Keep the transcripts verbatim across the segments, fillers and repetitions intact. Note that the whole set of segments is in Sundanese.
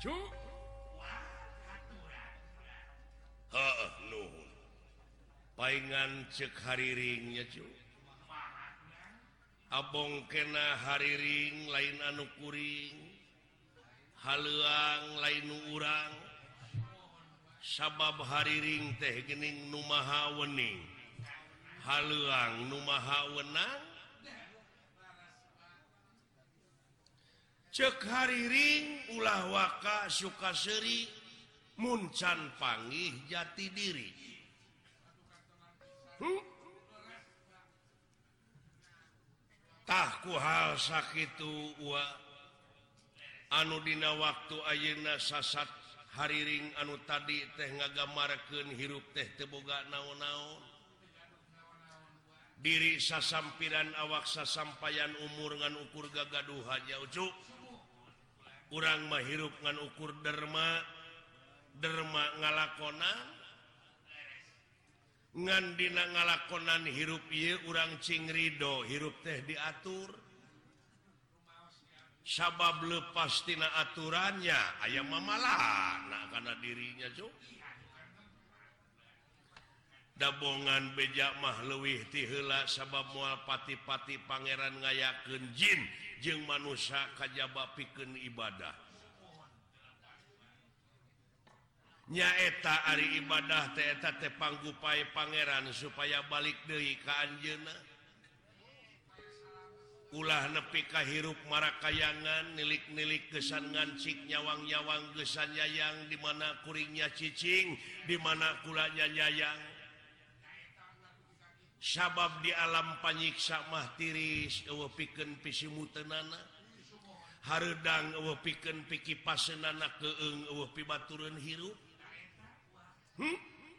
paingan cek hariringnya cu abong kena hariring lain anu kuring haluang lain urang sabab hariring teh gening nu maha wening haluang nu maha wenang cek hariring ulah waka Sukaseri muncan panggih jati diri hmm? Tahku hal sakitu wa anu dina waktu ayeuna sasat hariring anu tadi teh ngagamarkeun hirup teh teu boga naon-naon diri sasampiran awak sasampayan umur ngan ukur gagaduh haja ucuk urang mah hirup ngan ukur derma derma ngalakonan ngan dina ngalakonan hirup ieu urang cing ridho hirup teh diatur sabab lepas tina aturannya aya mamalahna kana dirinya cuk dabongan beja mah leuwih ti heula sabab moal pati-pati pangeran ngayakeun jin jeung manusia kajaba pikeun ibadah nyaeta ari ibadah teh eta teh panggupae pangeran supaya balik deui ka anjeunna ulah nepi ka hirup marakayangan nilik-nilik gesan ngancik nyawang-nyawang gesan yayang di mana kuringnya cicing di mana kulanya nyayang sabab di alam panyiksa mah tiris eueuh pikeun pisimuteunana hareudang eueuh pikeun pikipaseunana keung eueuh pibatureun hirup Hmm?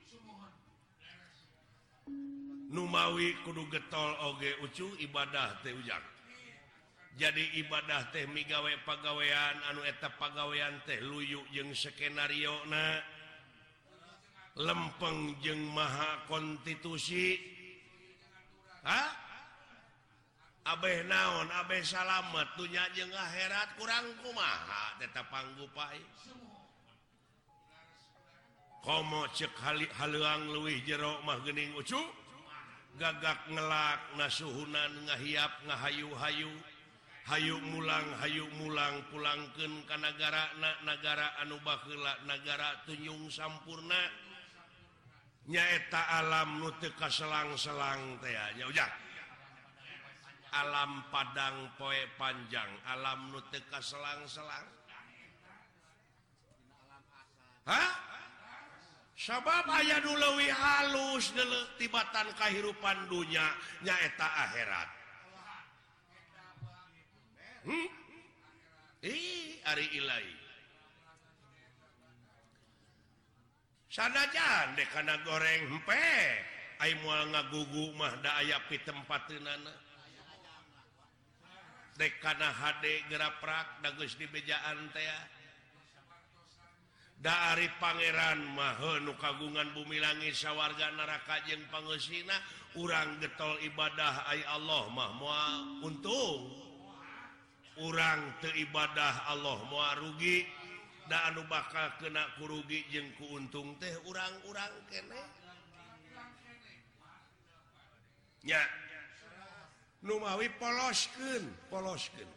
Numawi kudu getol oge ucu ibadah teh ujang jadi ibadah teh migawe pagawean anu eta pagawean teh luyu jeung skenario na lempeng jeung maha konstitusi ha abeh naon abeh salamet dunya jeung akhirat kurang kumaha eta panggupai komo cek haluang leuwih jero mah geuning ucu gagak ngelak nasuhunan ngahiap ngahayu-hayu hayu mulang hayu mulang pulangkeun ka nagarana nagara anu baheula nagara tunyung sampurna nyaeta alam nu teu kaselang-selang teh nya ujang alam padang poe panjang alam nu teu kaselang-selang ha sabab aya nu leuwih halus tibatan kahirupan dunya nyaeta akhirat hmm? Ih, ari ilahi sanajan dek kana goreng hempe ai moal ngagugu mah da aya pitempateunana dek kana hade geraprak da geus dibejaan teh da ari pangeran mah nu kagungan bumi langit sawarga neraka jeung pangeusina urang getol ibadah ai Allah mah moal untung urang teu ibadah Allah moal rugi da anu bakal kena ku rugi jeung ku untung teh urang-urang keneh nya nu mawi poloskeun poloskeun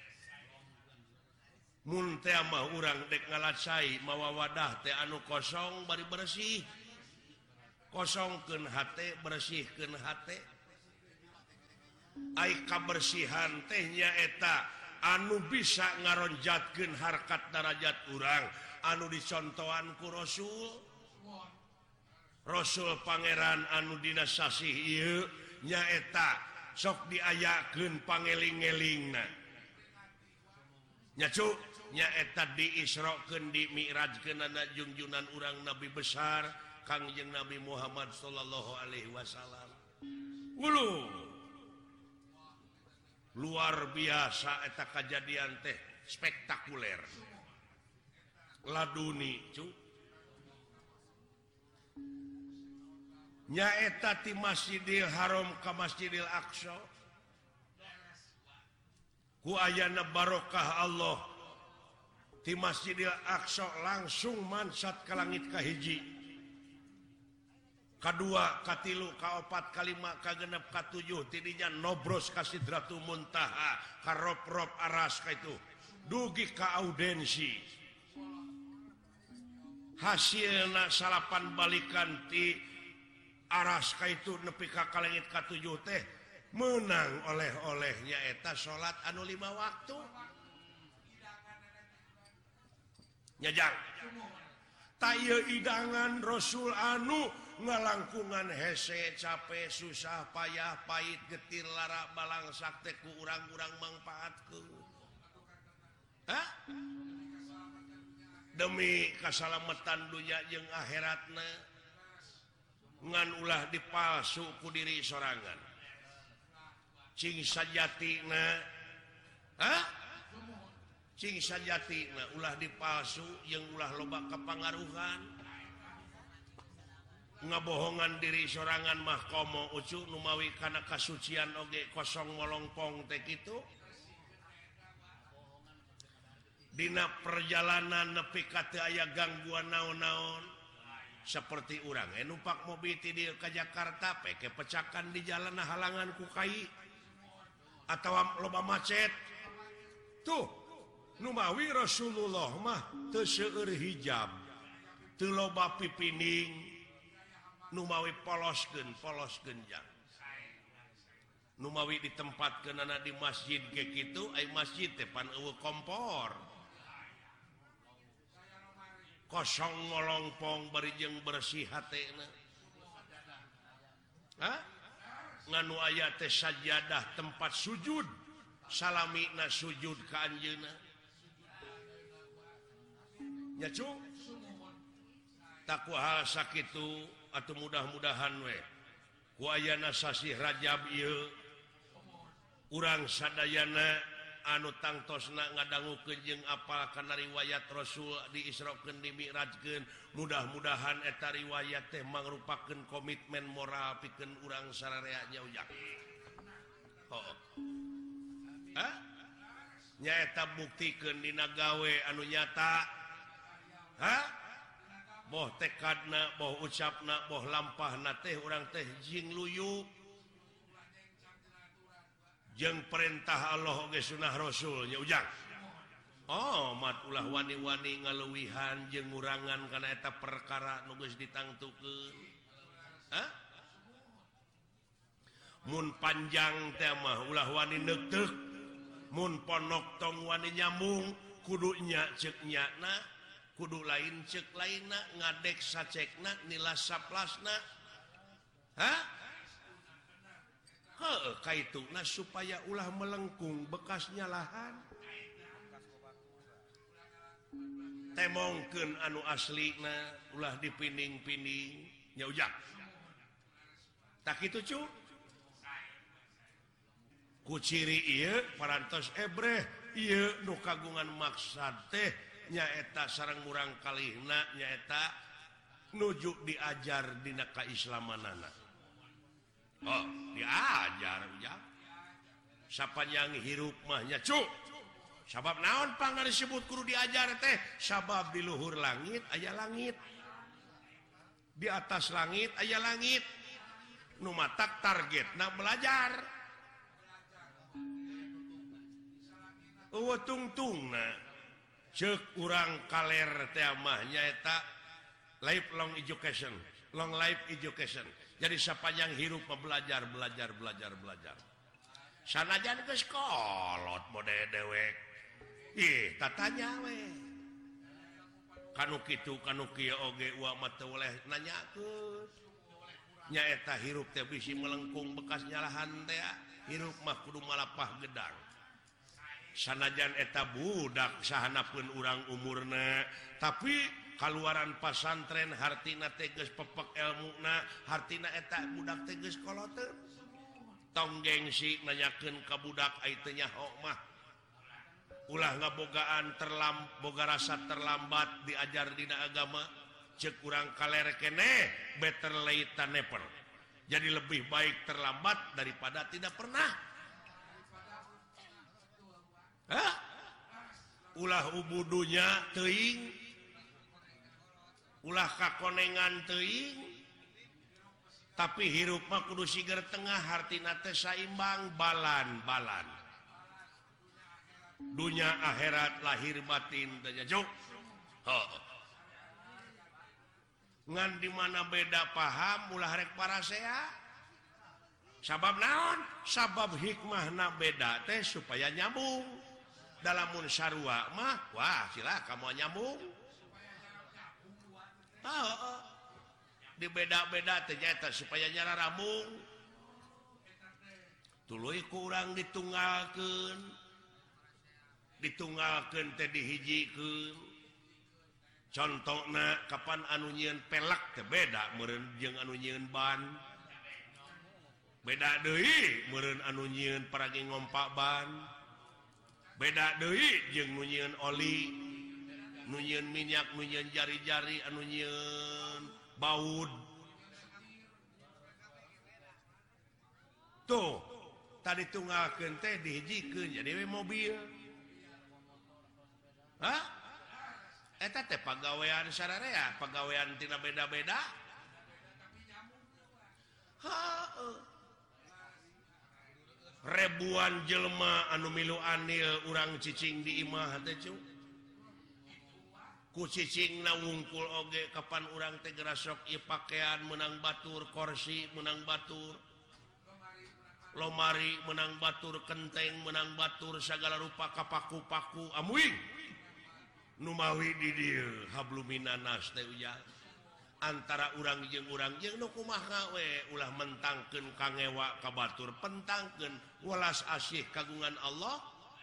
mun teh mah urang dek ngalacai mawa wadah teh anu kosong bari bersih kosongkeun hate bersihkeun hate ai kabersihan teh nyaeta anu bisa ngaronjatkeun harkat darajat urang anu dicontohan ku Rasul Rasul pangeran anu dina sasih ieu nyaeta sok diayakeun pangeling-elingna nya cu nyaeta diisrokeun di mi'rajkeun ana junjunan urang nabi besar Kangjeng Nabi Muhammad sallallahu alaihi wasallam ulu luar biasa eta kejadian teh spektakuler laduni cu nyaeta ti Masjidil Haram ka Masjidil Aqsa ku ayana barokah Allah di Masjidil Aqsa langsung mansat ke langit kahiji kedua katilu kaopat kalima kagenep katujuh tidinya nobros ka Sidratul Muntaha ka rob-rob aras ka itu dugi ka audensi hasilna salapan balikan ti aras ka itu nepi ka kalangit katujuh teh menang oleh-olehnya eta salat anu lima waktu nyajang taya idangan Rasul anu ngalangkungan hese capek susah payah pahit getir lara balang sakte ku urang-urang mangpaatkeun hah demi kasalamatan dunya jeung akhiratna ngan ulah dipalsu ku diri sorangan cing sajatina hah cing sajatina ulah dipalsu jeung ulah loba kapangaruhan ngabohongan diri sorangan mah komo ucu numawi kana kasucian oge kosong molongpong teh kitu dina perjalanan nepi ka teu aya gangguan naon-naon seperti urang eh numpak mobil ti dieu ka Jakarta peke pecakan di jalan halangan ku kai atawa loba macet tuh numawi Rasulullah mah teu seueur hijab teu loba pipining numawi poloskeun poloskeun jang numawi ditempatkeunana di masjid ge kitu ai masjid teh pan eueuh kompor kosong ngolongpong bari jeung bersih hatena hah nganu aya teh sajadah tempat sujud salamina sujud ka anjeunna nya cu tak kumaha sakitu atuh mudah-mudahan we ku ayana sasi Rajab ieu urang sadayana anu tangtosna ngadangukeun jeung apal kana riwayat Rasul diisrokeun dimi'rajkeun mudah-mudahan eta riwayat teh mangrupakeun komitmen moral pikeun urang sararea ujang oh hah nyaeta buktikeun dina gawe anu nyata hah boh tekadna boh ucapna boh lampahna teh urang teh jing luyu jeung perintah Allah oge sunah Rasul nya ujang oh mat ulah wani-wani ngaleuwihan jeung ngurangan kana eta perkara nu geus ditangtukeun hah mun panjang teh mah ulah wani neuk-teuk mun ponok tong wani nyambung kudu nya ceuk nyana kudu lain ceuk lainna ngadek sacekna nilas saplasna hah heuh kaituna supaya ulah melengkung bekasnya lahan temongkeun anu aslina ulah dipining-pining nya ujang tak kitu cu ku ciri ieu parantos ebreh ieu nu kagungan maksad teh nyaeta sareng murang kalihna nyaeta nuju diajar dina kaislamanana oh diajar ujang sapanjang hirup mah nya cu sabab naon pangna disebut kudu diajar teh sabab di luhur langit aya langit di atas langit aya langit nu matak targetna belajar eueuh tungtungna ceuk urang kaler teh mah nyaeta lifelong education long life education jadi sapanjang hirup mah belajar belajar belajar belajar sanajan geus kolot mode dewek ih tatanya we kanu kitu kanu kieu oge uang mah teu oleh nanyakeun nyaeta hirup teh bisi melengkung bekas nyalahan teh hirup mah kudu malapah gedang sanajan eta budak sahanapeun urang umurna tapi kaluaran pasantren hartina teh geus pepek elmuna hartina eta budak teh geus koloteun tong gengsi nanyakeun ka budak ai teh nyaho mah ulah ngabogaan terlam boga rasa terlambat diajar dina agama ceuk urang kaler keneh better late than never jadi lebih baik terlambat daripada tidak pernah hah ulah ubudunya teuing ulah kakonengan teuing tapi hirup mah kudu siger tengah hartina teh saimbang balan-balan dunya akhirat lahir batin teh jauh ngan di mana beda paham ulah rek parasea sabab naon sabab hikmahna beda teh supaya nyambung dalamun sarua mah wah sila kamu nyambung oh, di beda-beda ternyata supaya nyara rambung tuluy kurang ditunggalkeun ditunggalkeun teh dihijikeun contohna kapan anu nyieun pelak teh beda meureun jeung anu nyieun ban beda deui meureun anu nyieun paragi ngompak ban beda deui jeung nu nyieun oli nu nyieun minyak nu nyieun jari-jari anu nyieun baud tuh tadi tunggalkeun teh dihijikeun jadi we mobil hah eta teh pagawean sararea pagawean tina beda-beda heuh ribuan jelema anu milu anil urang cicing di imah teh cu ku cicing na wungkul oge kapan urang teh gerasok ieu pakaian menang batur kursi menang batur lomari menang batur kenteng menang batur sagala rupa kapaku-paku amuing nu mawi di dieu habluminanas teh ujang antara urang jeung urang jeung nu kumaha we ulah mentangkeun kangewa ka batur pentangkeun welas asih kagungan Allah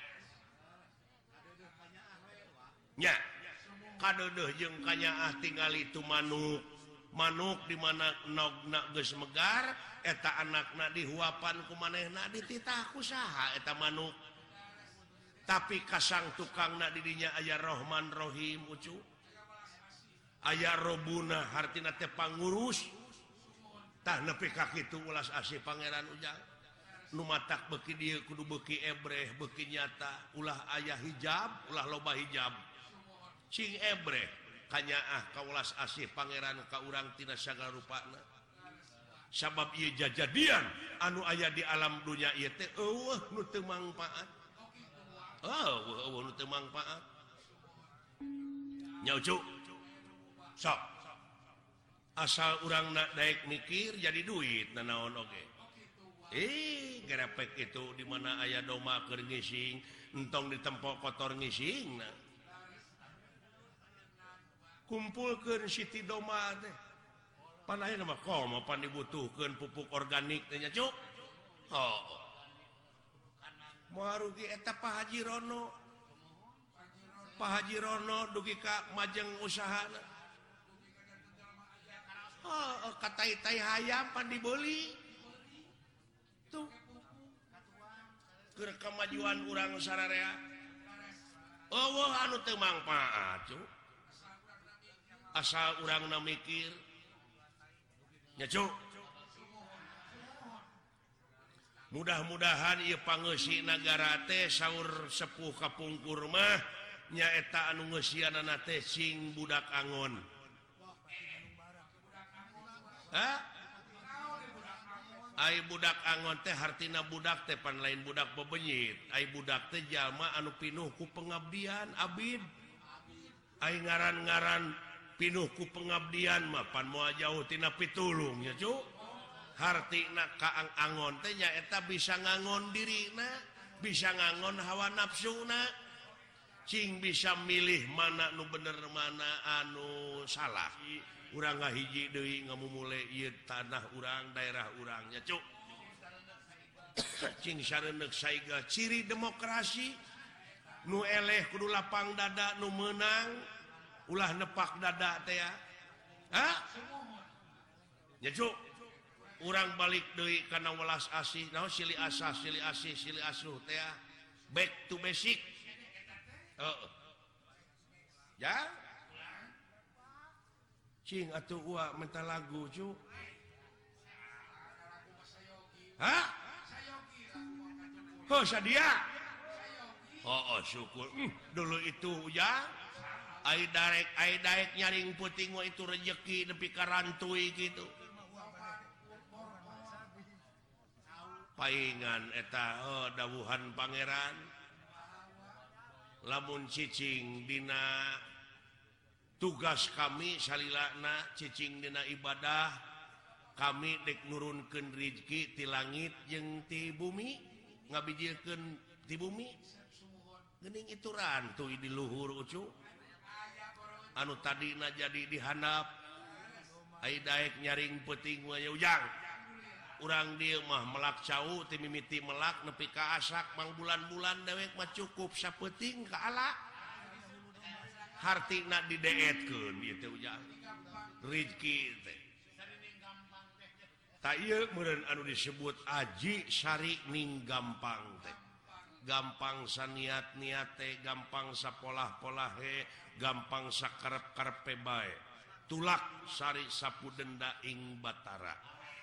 nya kadeudeung jeung kanyaah tingali tu manuk manuk di mana nogna geus megar eta anakna dihuapan ku manehna dititah ku saha eta manuk tapi kasang tukangna di dinya aya Rahman Rahim ucu aya robuna hartina teh pangurus tah nepi ka kitu ulas asih pangeran ujang nu matak beuki dieu kudu beuki ebreh beuki nyata ulah aya hijab ulah loba hijab cing ebreh kanyaah ka ulas asih pangeran ka urang tina sagala rupana sabab ieu jajadian anu aya di alam dunya ieu teh eueuh nu teu mangpaat eueuh eueuh nu teu mangpaat nya ucu sok asal urang nak daek mikir jadi duit nanaon oge eh gerepek itu di mana aya doma keur ngising entong ditempo kotor ngising nah kumpulkeun siti doma teh pan aya mah komo pan dibutuhkeun pupuk organik teh nya cuk oh moal rugi eta Pak Haji Rono Pak Haji Rono dugi ka majeng usahana oh, katai-tai hayam pan dibeli tuh keur kemajuan urang sararea eueuh anu teu mangpaat cu asal urangna mikir nya cu mudah-mudahan ieu pangeussi nagara teh saur sepuh kapungkur mah nyaeta anu ngeusianana teh sing budak angon hah? Ai budak angon teh hartina budak teh pan lain budak bebenyit ai budak teh jalma anu pinuh ku pengabdian abid ai ngaran-ngaran pinuh ku pengabdian mah pan moal jauh tina pitulung nya cu hartina kaang angon teh nyaeta bisa ngangon dirina bisa ngangon hawa nafsuna cing bisa milih mana nu bener mana anu salah urang ngahiji deui ngamumule ieu tanah urang daerah urangnya cuk cing sareundeuk saiga ciri demokrasi nu eleh kudu lapang dada nu meunang ulah nepak dada teh ya ha nya cuk urang balik deui kana welas asih naon silih asah silih asih silih asuh teh ya back to basic heeh ya cing atuh uak minta lagu cu hah? Oh sadia Oh, oh syukur hmm, dulu itu ya ai darek ai daek nyaring puting mah itu rezeki nepi ka rantui gitu paingan eta oh, dawuhan pangeran lamun cicing dina tugas kami salilana cicing dina ibadah kami dek nurunkeun rezeki ti langit jeung ti bumi ngabijilkeun ti bumi geuning itu rantui di luhur ucu anu tadina jadi dihandap ai daek nyaring peuting we ujang urang dieu mah melak cau ti mimiti melak nepi ka asak mang bulan-bulan dewek mah cukup sapeuting ka ala hartina dideetkeun ieu teh ujang rezeki teh ta ieu meureun anu disebut aji syari ning gampang teh gampang saniat-niat teh gampang sapolah-polah he gampang sakarep-karepe bae tulak sari sapu denda ing batara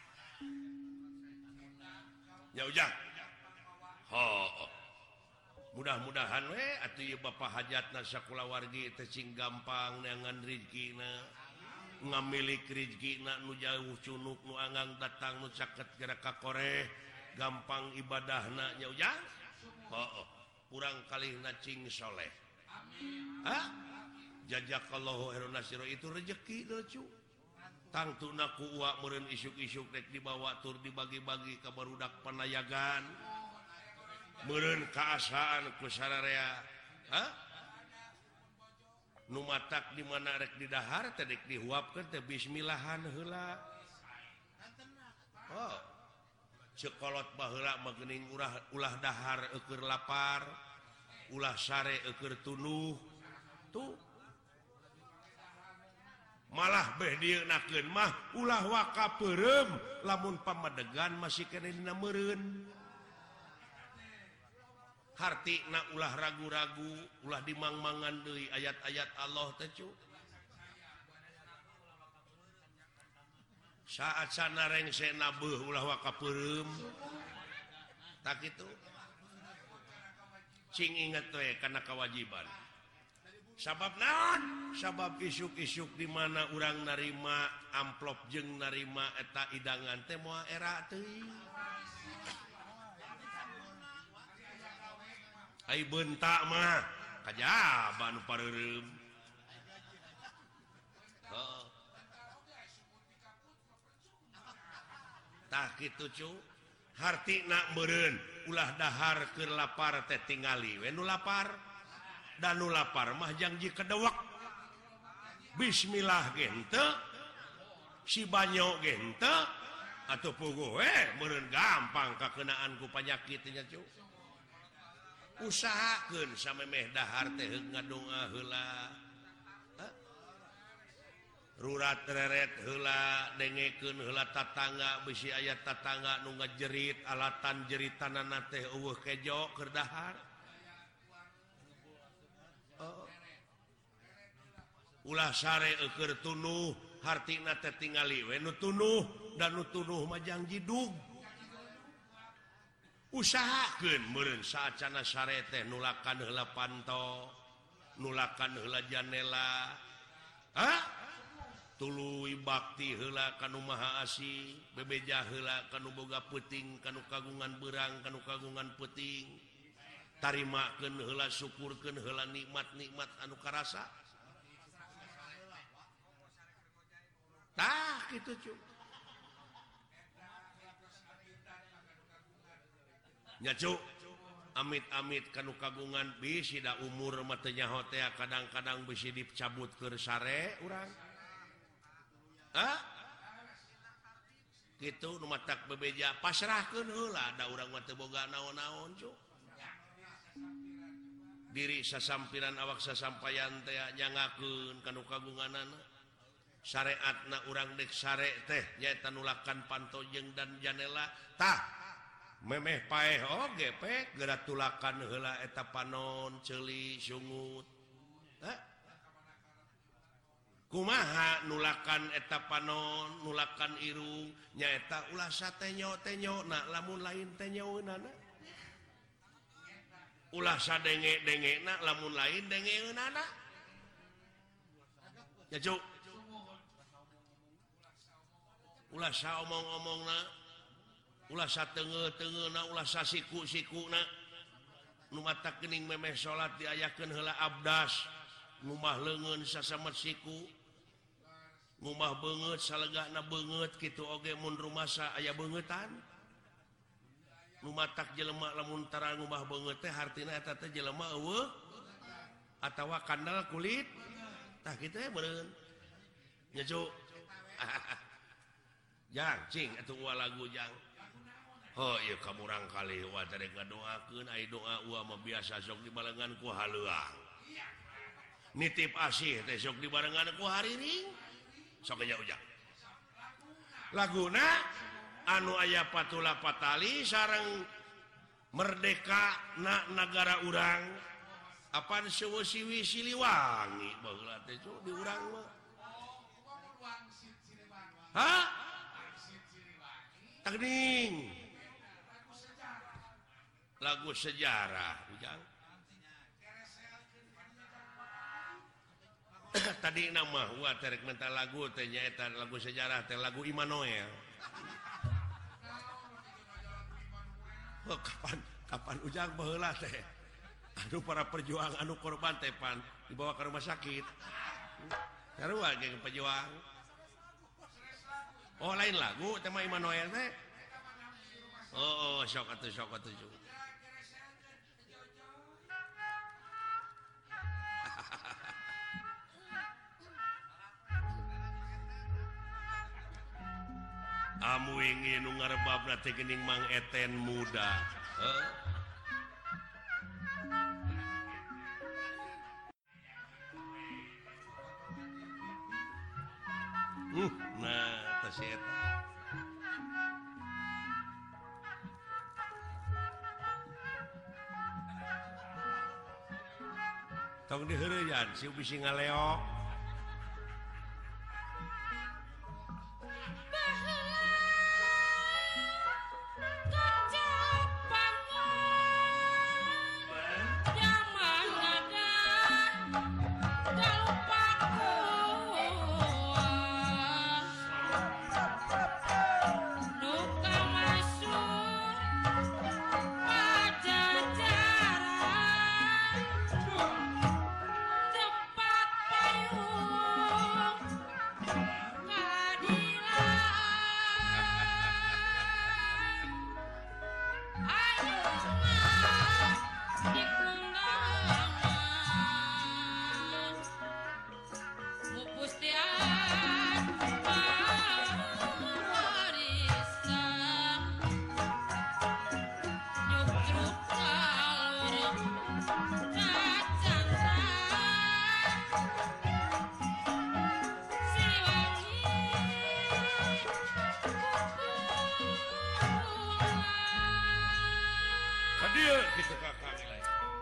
ya ujang ho mudah-mudahan we atuh ieu bapa hajatna sakulawargi teh cing gampang neangan rezekina ngamilik rezekina nu jauh cunuk nu anggang datang nu caket gerak ka koreh gampang ibadahna nya ujang oh kurang kalihna cing soleh ah jazakallahu khairan nasira itu rezeki lucu tangtuna ku uwa meureun isuk-isuk rek dibawa tur dibagi-bagi ka barudak panayagan meureun kaasaan ku sararea ha nu matak di mana rek didahar teh dek dihuapkeun teh bismillahan heula oh cekolot baheula mah geuning ulah ulah dahar eukeur lapar ulah sare eukeur tunuh tuh malah beh dieunakeun mah ulah waka peureum lamun pamadegan masih kene dina meureun hartina ulah ragu-ragu ulah dimangmangan deui ayat-ayat Allah teh cu saat sanarengsena beuh ulah waka peureum tak kitu cing inget we kana kewajiban sabab naon sabab isuk-isuk di mana urang narima amplop jeung narima eta idangan teh moal era teuing ai beuntak mah kajaba nu pareureum oh tah kitu cu hartina meureun ulah dahar keur lapar teh tingali we nu lapar dan nu lapar mah janji kedewek bismillah ge henteu si banyo ge henteu atuh puguh we meureun gampang kakeunaan ku panyakit nya cu usahakeun samemeh dahar teh ngadonga heula rurat reret heula dengekeun heula tatangga bisi aya tatangga nu ngajerit alatan jeritanana teh eueuh kejo keur dahar oh. Ulah sare eukeur tunuh hartina teh tingali we nu tunuh dan nu tunuh mah janji dug usahakeun meureun saacana sare teh nulakan heula panto nulakan heula janela ha tuluy bakti heula kanu maha asih bebeja heula kanu boga peuting kanu kagungan beurang kanu kagungan peuting tarimakeun heula syukurkeun heula nikmat-nikmat anu karasa tah kitu cu nya cu amit-amit kanu kagungan bisi da umur mah teu nyaho teh kadang-kadang bisi dicabut keur sare urang ah gitu nu matak bebeja pasrahkeun heula da urang mah teu boga naon-naon cu diri sasampiran awak sasampayan teh nyangakeun kanu kagunganana syariatna urang dek sare teh nyaeta nulakan pantojeng dan janela tah memeh paeh oge pek geura tulakan heula eta panon ceuli sungut ha kumaha nulakan eta panon nulakan irung nyaeta ulah satenyo tenyo na lamun lain tenyoeunana ulah sadenge-denge na lamun lain dengeunana ya cuk ulah saomong-omongna ulah satenge-tengeuna ulah sasiku-sikuna nu matak geuning memeh salat diayakeun heula abdas ngumah leungeun sasamet siku ngumah beungeut salegahna beungeut kitu oge mun rumasa aya beungetan nu matak jelema lamun tara ngumah beungeut teh hartina eta teh jelema eueuh atawa kandal kulit tah kitu ya beureun nya cuk jang cing atuh ua lagu jang oh iya kamurang kali wa teh ngadoakeun ai doa ua mah biasa sok dibarengan ku haleuang nitip asih teh sok dibarengan ku hariring sok nya ujang laguna anu aya patula patali sareng merdeka na negara urang apaan seueuh-siwi Siliwangi baheula teh di urang mah ha tagning lagu sejarah ujang tadi nama gua terek minta lagu teh nyaeta lagu sejarah teh lagu Immanuel oh, kapan kapan ujang baheula teh anu para perjuang anu korban teh pan dibawa ke rumah sakit sarua geng pejuang oh lain lagu teh mah Immanuel teh oh, oh sok atuh sok atuh amu ingin nu ngarebabna teh geuning Mang Eten muda heuh Uh, nah, tas eta. Tong diheureuyan si bisi ngaleok. Gitu kakak nilai.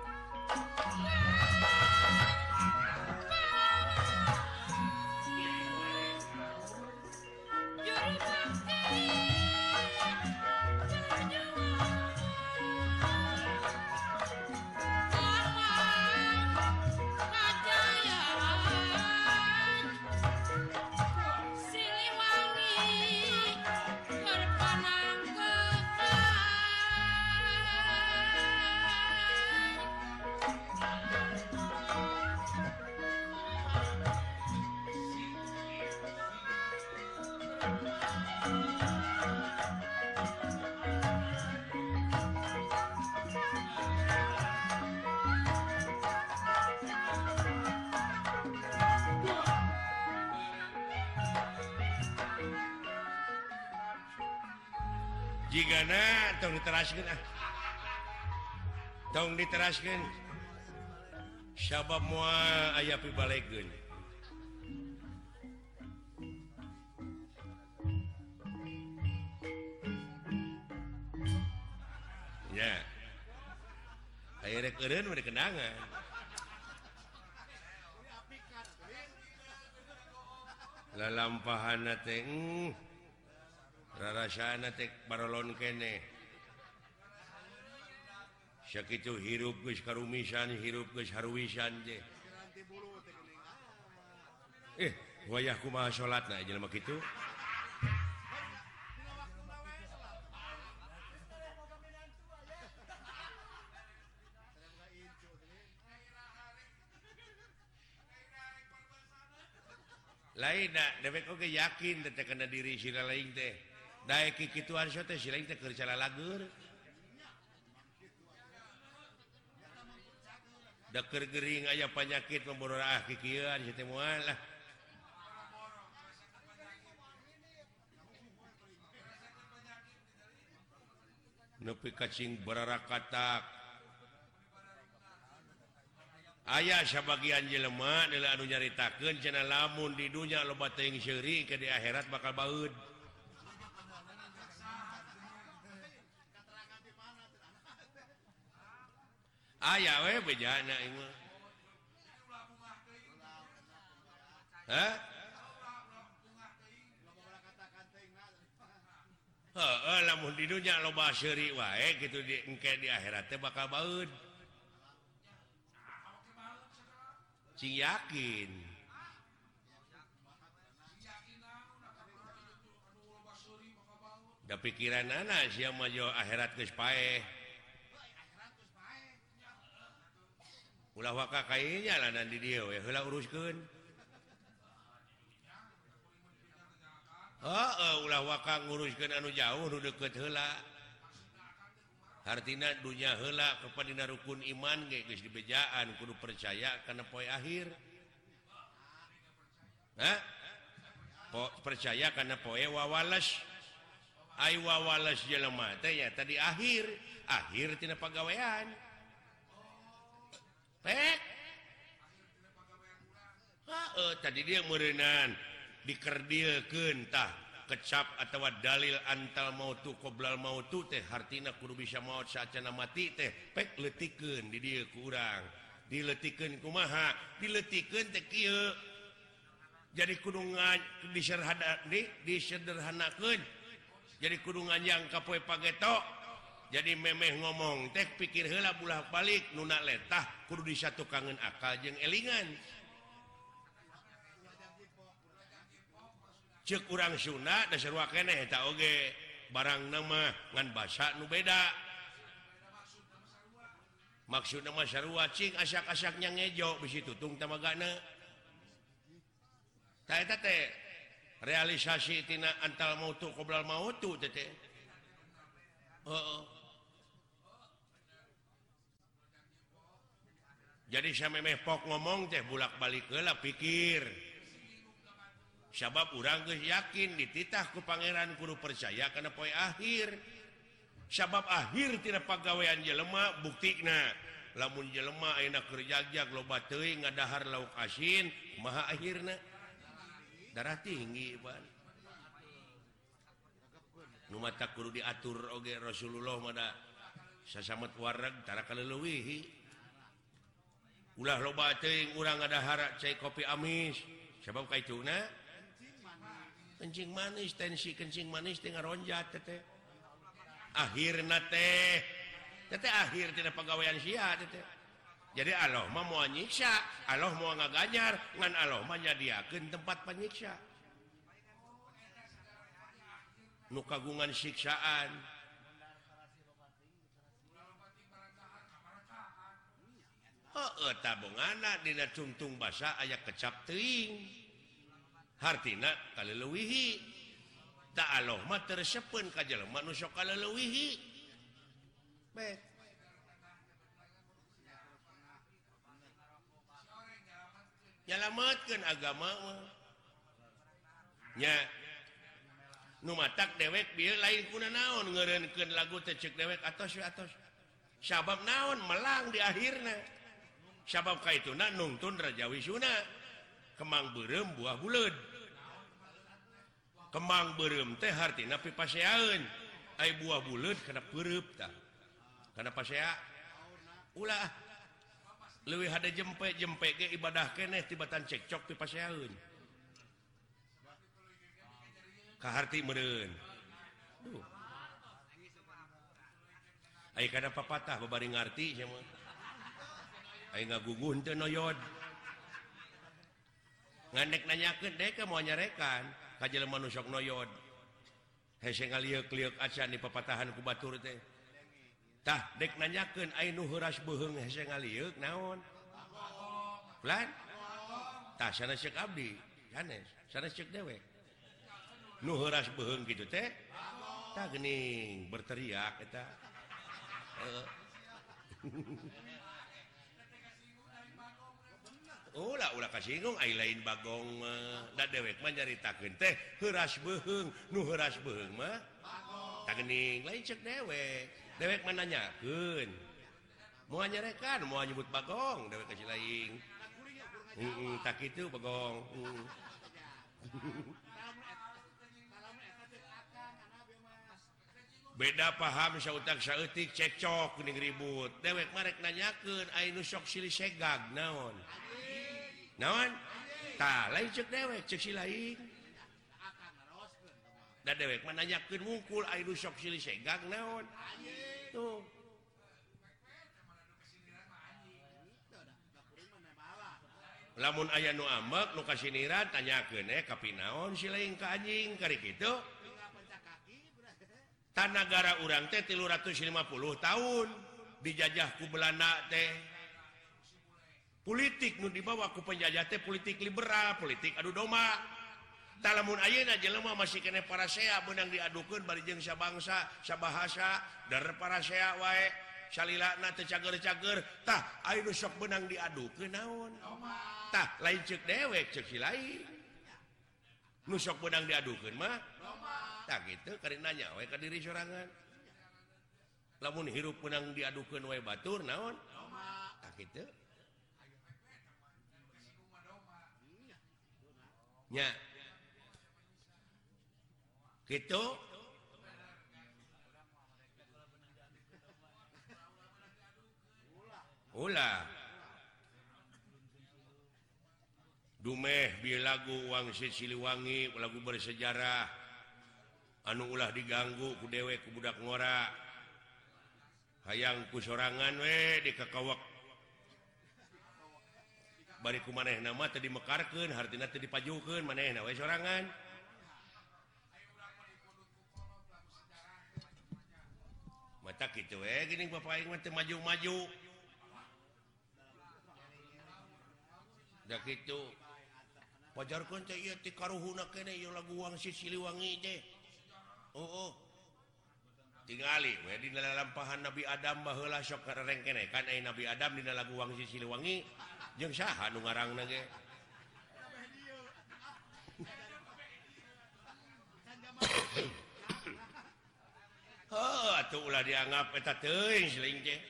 Jigana tong diteraskeun ah. Tong diteraskeun. Sabab moal aya pibalegeun. Ya. Aya rek eureun mah kenangan. Lalampahanna teh rarasana teh barolon kene sakitu hirup geus karumisan hirup geus haruwisan je eh wayah kumaha salatna jelema kitu lain da dewek oge yakin teh kana diri sira lain teh daek kikituan so teh sira teh keur calalagur da keur gering aya panyakit memboro ah kikieuan si teh moal lah nepi kacing bararakatak aya sabagian jelema adalah anu nyaritakeun cenah lamun di dunya loba teuing seuri ke di akhirat bakal baeud. Aya we bejana ieu mah. Hah? Heeh, lamun di dunya loba seuri wae kitu di engke di akhirat teh bakal baeud. Cing yakin da pikiran anak sia mah jo akhirat geus paeh ulah waka kayenya lanan di dieu we heula uruskeun heeh ulah waka nguruskeun anu jauh nu deukeut heula artina dunya heula kepadina rukun iman ge geus dibejaan kudu percaya kana poe akhir. Hah? Po, percaya kana poe wawalas. Ai wawalas jelema teh nya tadi akhir, akhir tina pagawean. Pek. Heeh, tadi dia meureunan dikerdilkeun tah kecap atau dalil antal mautu qoblal mautu teh hartina kudu bisa maut saacana mati teh pek letikeun di dieu ku urang diletikeun kumaha diletikeun teh kieu jadi kudu disederhana disederhanakeun jadi kudu nganyang ka poe pageto jadi memeh ngomong teh pikir heula bulak-balik nuna letah kudu disatukangeun akal jeung elingan cek urang Sunda da sarua keneh eta oge barang nama ngan basa nu beda maksudna mah sarua cing asak-asaknya ngejo bisi tutung tamagana tah eta teh realisasi tina antal mautu qoblal mautu teh teh heeh jadi samemeh pok ngomong teh bulak-balik heula pikir sabab urang geus yakin dititah ku pangeran kudu percaya kana poe akhir sabab akhir tina pagawean jelema buktina lamun jelema ayeuna keur jagjag loba teuing ngadahar lauk asin kumaha akhirna darah tinggi pan nu mata kudu diatur oge Rasulullah mah da sasamet wareg tara kaleuweuhi ulah loba teuing urang ngadahar cai kopi amis sabab kaituna kencing manis tensi kencing manis teh ngaronjat teh akhirna teh teh akhir tina pagawean sia teh jadi Allah mah moal nyiksa Allah moal ngaganyar ngan Allah mah nyadiakeun tempat panyiksa nu kagungan siksaan heueuh tabungana dina tungtung basa aya kecap teuing hartina kaleuweuhi ta Allah mah tersepeun ka jelema nu sok kaleuweuhi bae nyalametkeun agama mah nya nu matak dewek bieu lain kuna naon ngeureunkeun lagu teh ceuk dewek atos we atos sabab naon melang di akhirna sabab kaituna nungtun Raja Wisuna kemang beureum buah buleud kemang beureum teh hartina pipaseaeun ai buah buleud kana peureub tah kana pasea ulah leuwih hade jempe-jempe ge ibadah keneh tibatan cekcok pipaseaeun ka harti meureun duh kada papatah babari ngarti sama ai ngagugun teu noyod ngandek nanyakeun dek mau nyarekan ka jelema nu sok noyod hese ngalieu-lieu acan di papatahan ku batur teh tah dek nanyakeun ai nu heuras beuheung hese ngalieu naon plan tah sanes ceuk abdi sanes sanes ceuk dewe nu heuras beuheung kitu teh tah geuning berteriak eta ulah ulah kasinggung ai lain bagong da dewek mah nyaritakeun teh heuras beuheung nu heuras beuheung mah tah geuning lain ceuk dewek dewek mah nanyakeun moal nyarekan moal nyebut bagong dewek kasih lain heeh tah kitu bagong beda paham sautak saeutik cekcok geuning ribut dewek marek nanyakeun ai nu sok silih segag naon naon tah lain ceuk dewek ceuk si lain da dewek mah nanyakeun wungkul ai nu sok silih segag naon tuh lamun aya nu ambek nu kasiniran tanyakeun eh kapi naon si lain ka anjing kari kitu negara urang teh tilu ratus lima puluh tahun dijajah ku Belanda teh politik nu dibawa ku penjajah teh politik liberal politik adu domba talamun ayeuna jelema masih kene parasea beunang diadukeun bari jeung sabangsa sabahasa dar parasea wae salilana teu cager-cager tah aya nu sok beunang diadukeun naon tah lain ceuk dewek ceuk si lain nu sok beunang diadukeun mah tak gitu karena nanya we ka diri sorangan lamun hirup menang diadukeun we batur naon tak gitu nya gitu ulah dumeh bieu lagu Wangsit Siliwangi lagu bersejarah anu ulah diganggu ku dewek ku budak ngora hayang ku sorangan we dikakawak bari ku manehna mah teu dimekarkeun hartina teu dipajukeun manehna we sorangan mata kitu we geuning bapak aing mah teu maju-maju da kitu pajarkeun teh ieu ti karuhuna keneh ieu lagu Wangsit Siliwangi teh oh, oh. Tingali we dina lampahan Nabi Adam baheula sok kareng keneh kan aya Nabi Adam dina lagu Wangsit Siliwangi jeung saha nu ngarangna ge oh atuh ulah dianggap eta teuing seuing teh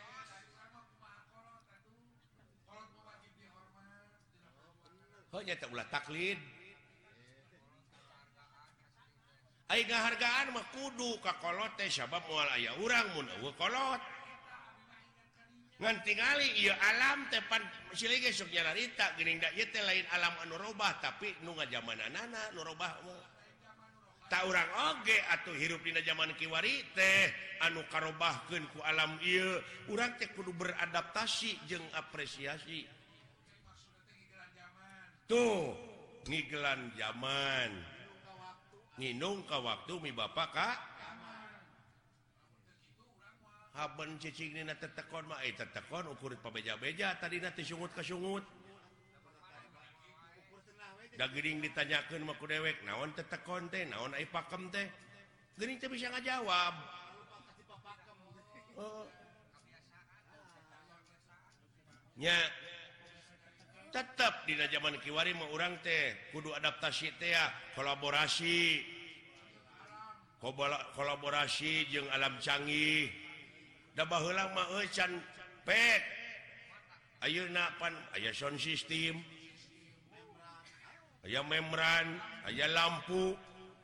oh nya teh ulah taklid ai ngahargaan mah kudu ka kolot teh sabab moal aya urang mun eueuh kolot ngan tingali ieu alam teh pan silih ge sok nyarita geuning da ieu teh lain alam anu robah tapi nu ngajamananana nu robah mah ta urang oge atuh hirup dina zaman kiwari teh anu karobahkeun ku alam ieu urang teh kudu beradaptasi jeung apresiasi tuh ngigelan zaman nginung ka waktu mi bapak ka haben cicing dina tetekon mah eh tetekon ukurit pabeja-beja tadina teh sungut ka sungut da geuning ditanyakeun mah ku dewek naon tetekon teh naon ai pakem teh geuning teh bisa ngajawab oh. nya tetap di zaman kiwari mah urang teh kudu adaptasi teh ya kolaborasi kolaborasi jeung alam canggih da baheula mah euy can pek ayeuna pan aya sound system aya membran aya lampu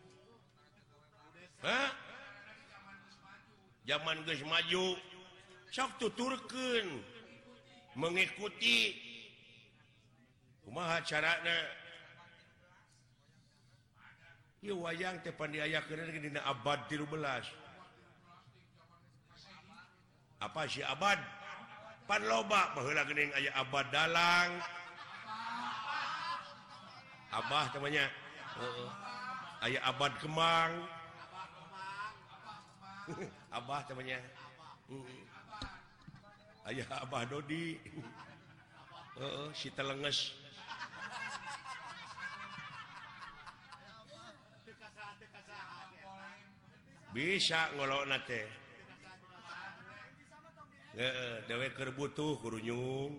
ha zaman geus maju sok tuturkeun mengikuti kumaha carana ieu wayang teh pan diayakeun dina abad tilu belas apa sih abad pan loba baheula geuning aya abad dalang abah namanya heeh aya abad kemang abah namanya heeh aya abah Dodi heeh si telenges bisa ngolokna teh heeh dewe keur butuh kurunyung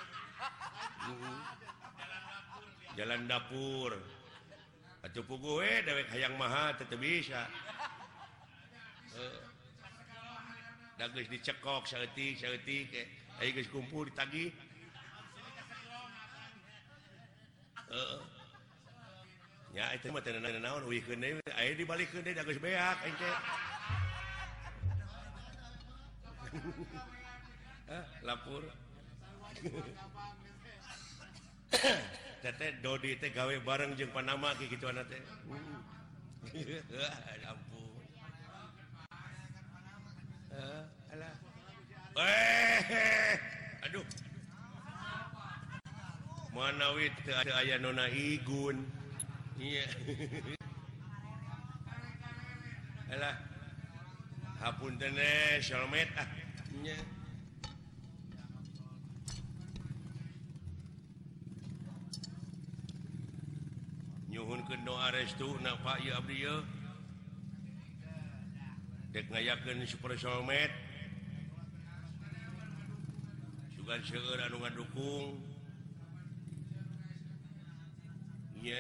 jalan dapur atuh puguh we dewek hayang maha teu bisa heeh da geus dicekok saeutik saeutik aya geus kumpul ditagih heeh nya eta mah teu naon uihkeun deui aya dibalikeun deui da geus beak aing teh ah lapur teh Dodi teh gawe bareng jeung Panama kieu kitu teh ampun eh alah eh aduh manawi teu aya nona igun iya alah hapunten eh shalmet ah nya nyuhunkeun doa restuna Pak ieu abdi ieu dek ngayakeun super shalmet sugan seueur anu ngadukung nya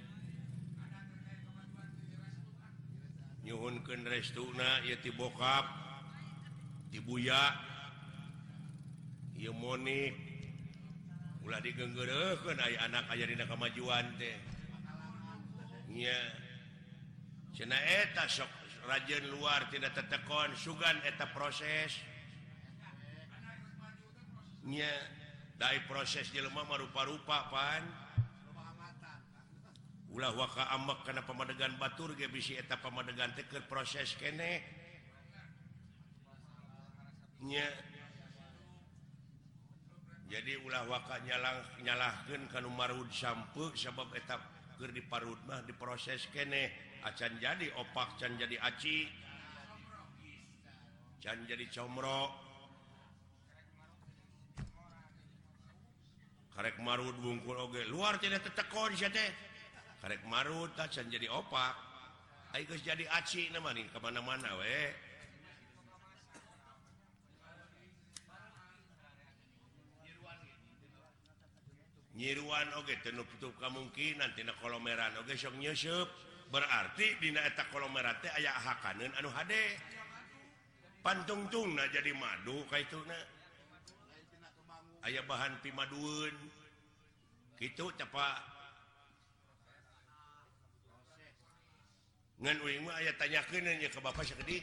nyuhunkeun restuna ieu ti bokap ti buya ieu monik ulah digeunggeureukkeun aya anak aya dina kamajuan teh nya cenah eta sok rajeun luar tidak tetekon sugan eta proses nya dai proses jelema mah rupa-rupa pan ulah waka amek kana pamadegan batur ge bisi eta pamadegan teh keur proses keneh nya jadi ulah waka nyalang nyalahkeun kanu marud sampeuk sabab eta keur diparut mah diproses keneh acan jadi opak can jadi aci can jadi comro karek marut wungkul oge luar tidak tetekon sia teh karek marut can jadi opak ai geus jadi aci na mah nih ka mana-mana we nyiruan oge teu nutup kamungkinan tina kolomeran oge sok nyeusup berarti dina eta kolomeran teh aya hakaneun anu hade pantungtungna jadi madu kaituna aya bahan pimadueun kitu capa ngan uing mah aya tanyakeun nya ka bapa sakedik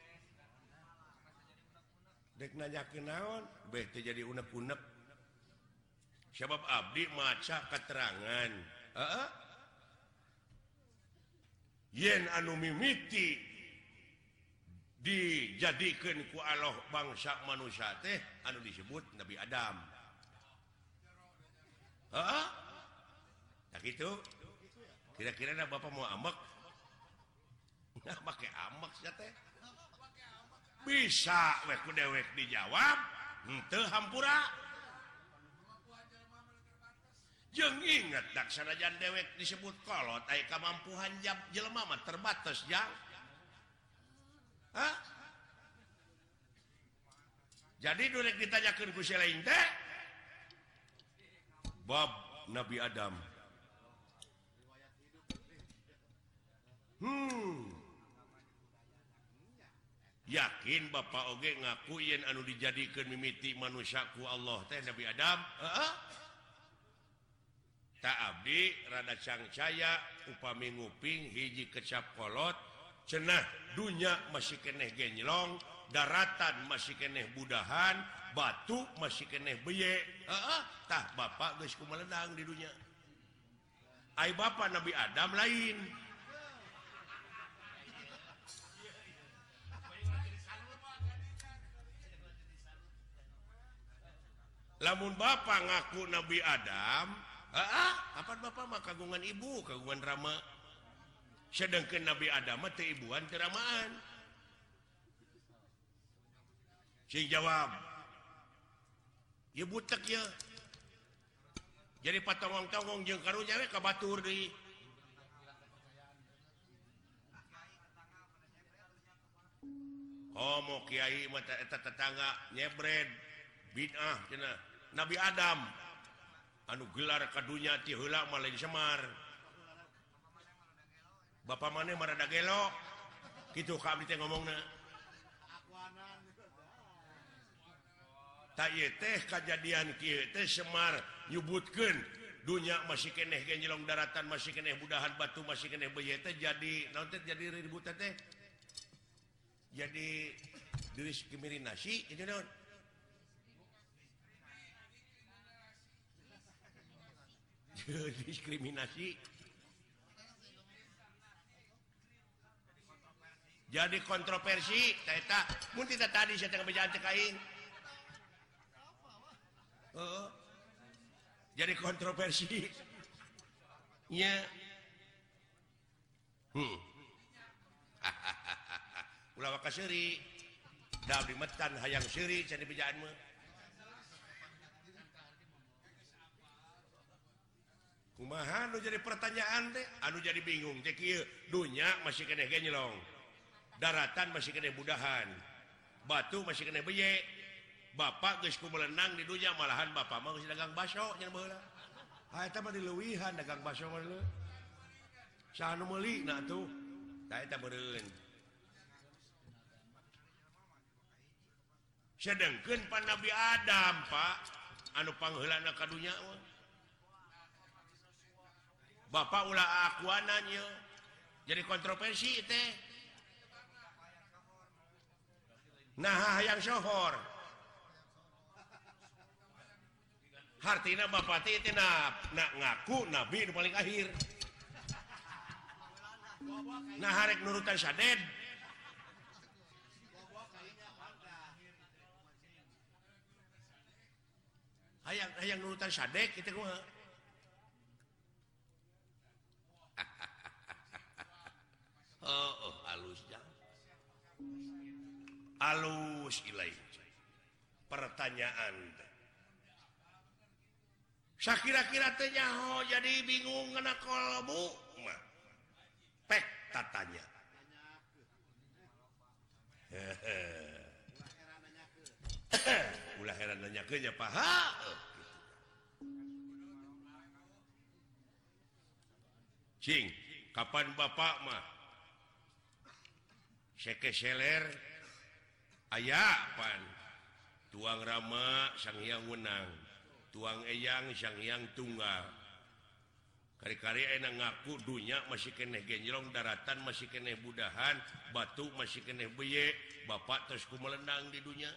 dek nanyakeun naon beh teh jadi unek-unek sebab abdi maca keterangan heeh yen anu mimiti dijadikeun ku Allah bangsa manusia teh anu disebut Nabi Adam heeh tak kitu kira-kira na bapak mau amek nah make amek sia teh bisa we ku dewek dijawab henteu hampura jeung inget dak sanajan dewek disebut kolot aya kamampuan jelema mah terbatas jang hah jadi durek ditanyakeun ku selain teh bab Nabi Adam hmm yakin bapak oge ngaku yen anu dijadikeun mimiti manusia ku Allah teh Nabi Adam heeh tak abdi rada cangcaya upami nguping hiji kecap kolot cenah dunya masih keneh genjlong daratan masih keneh budahan batu masih keneh beye heeh tah bapak geus kumeledang di dunya ai bapak Nabi Adam lain lamun bapak ngaku Nabi Adam ah apa bapak mah kagungan ibu kagungan rama sedangkan Nabi Adam teh ibuan teu ramaan sing jawab ya butek ya jadi patongong-tongong jeung karunya we kabatur deui oh mau kiai mah eta tetangga nyebred bid'ah cenah Nabi Adam anu gelar kadunya ti heula mah lain Semar Bapak maneh marada gelo kitu ka abdi teh ngomongna ta ieu teh kajadian kieu teh Semar nyebutkeun dunya masih keneh genjelong daratan masih keneh budahan batu masih keneh beuy teh jadi naon teh jadi ribut teh jadi diskriminasi itu naon diskriminasi jadi kontroversi eta mun tidak tadi saya tengah bejaan teh kain oh jadi kontroversi nya hmm ulah waka seuri da abdi metan hayang seuri can dibejaan mah kumaha anu jadi pertanyaan teh anu jadi bingung teh kieu dunya masih keneh ge nyelong daratan masih keneh budahan batu masih keneh beye bapak geus kumelenang di dunya malahan bapak mah geus dagang baso nya baheula ha eta mah dileuwihan dagang baso mah leuh saha nu meuli na atuh ta eta meureun sedengkeun pan Nabi Adam Pak anu pangheulana ka dunya mah bapak ulah akuanan ye jadi kontroversi teh nah hayang sohor hartina bapak teh teh na, na ngaku nabi nu paling akhir nah harek nurutan saded hayang hayang nurutan sadek kitu kumaha oh, oh halus jang halus ilai pertanyaan sakira-kira teh nyaho jadi bingung ngana kolbu mah pek tatanya ulah heran nanyakeun nya paha cing kapan bapak mah seke seler aya pan tuang rama sang hyang wenang tuang eyang sang hyang tunggal kari-kari enak ngaku dunya masih keneh genjlong daratan masih keneh budahan batu masih keneh beye bapak terus kumelenang di dunya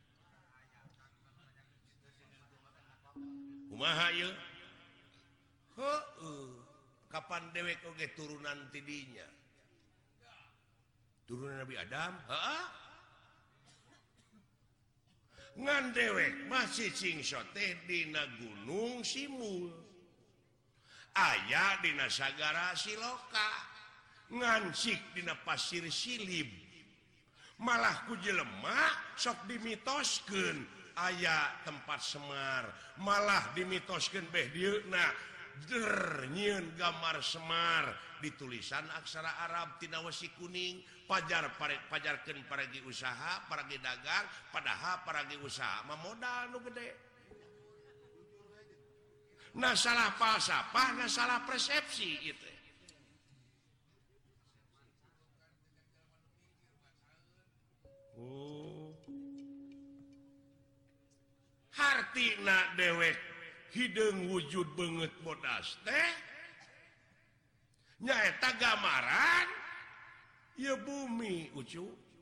kumaha ieu heueuh kapan dewek oge turunan ti dinya turunan Nabi Adam heeh ngan dewek masih cingso teh dina gunung Simul aya dina sagara Siloka ngansik dina pasir Silib malah ku jelema sok dimitoskeun aya tempat Semar malah dimitoskeun beh dieuna der nyieun gambar Semar ditulisan aksara Arab tina wesi kuning pajar pajarkeun paragi usaha paragi dagang padahal paragi usaha mah modal nu gede nah salah falsafah nah salah persepsi itu oh hartina dewek hideung wujud beungeut bodas teh nyaeta gambaran ya bumi ucu